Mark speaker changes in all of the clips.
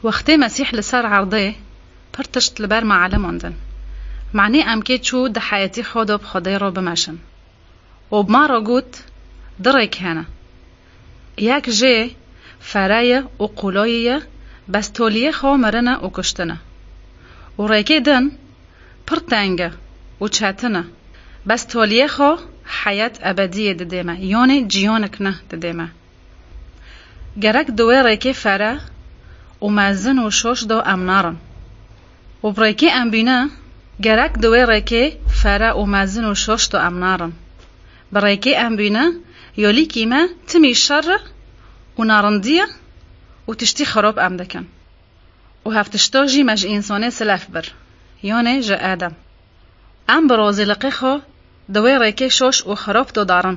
Speaker 1: وقتی مسیح لسر عرضه پرتشت لبر معلماندن معنی ام که چو ده حیاتی خود بخدای را بمشن و بما را گوت دره کنه یک جه فرایه و قولاییه بس تولیه خواه مرنه و کشتنه و ریکه دن پرتنگه و چتنه بس تولیه خواه حیات ابدیه ددیمه یعنی جیانک نه ددیمه گرک دوی ریکه فره و مزن و شوش دو امنارن و بریکه ام بینه گرک دوی ریکه فره و مزن و شوش دو امنارن بریکه ام بینه یولی کیمه تمی شر و نارندیه و تشتی خراب ام دکن و هفتشتا جی مج انسانه سلف بر یعنی جا آدم ام برازی لقی خو دوی ریکه شوش و خراب دو دارن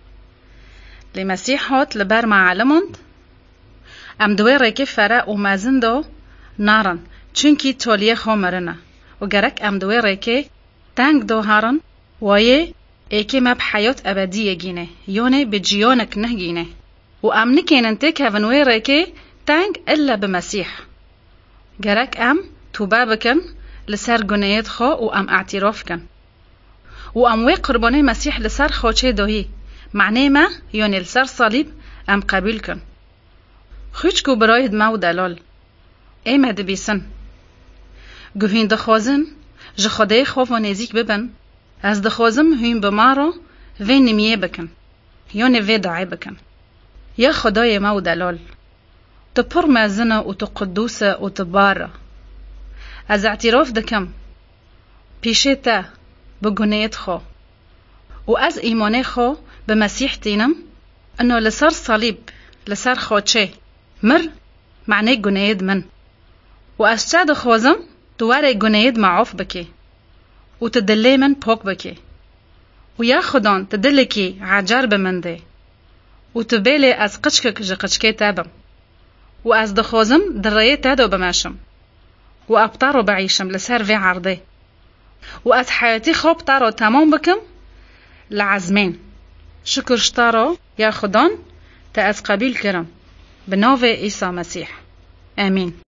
Speaker 1: لی مسیح هات لبر معلماند ام دوی ریکه فره و مزن دو نارن چونکی تولیه خو مرنه و گرک ام دوی ریکه تنگ دو هارن وایه ایکی مب حیات ابدیه گینه یعنی به جیانک نه گینه و ام نکینن تک هونوی ریکه تنگ الا بمسیح گرک ام توبه بکن لسر گناهات خو و ام اعتراف کن و ام وی قربانه مسیح لسر خوچه داهی معنی ما یعنی لسر صلیب ام قبول کن خوچ کو براید ما و دلال ایمه دبیسن گوهین دخوازن جه خدای خوف و نزیک ببن از دخوازم هین بما را وی نمیه بکن یعنی وی دعای بکن یا خدای ما و دلال تو پر مزنه و تو قدوسه و تو باره از اعتراف دکم پیشه تا بگناهت خو و از ایمان خو به مسیح تینم انو لسر صلیب لسر خوچه مر معنی گناهت من و از چه دخوازم دواره گناهت معاف بکی و تدلی من پاک بکی و یا خدان تدلی کی عجر بمنده و تبیلی از قچکک جه قچکه تابم و از دخوازم درایه تادو بماشم و ابطارو بعیشم لسر وی عرضه و از حیاتی خوب تارو تمام بکم لعزمین شکرش تارو یا خدان تا از قبیل کرم بناو عیسی مسیح آمین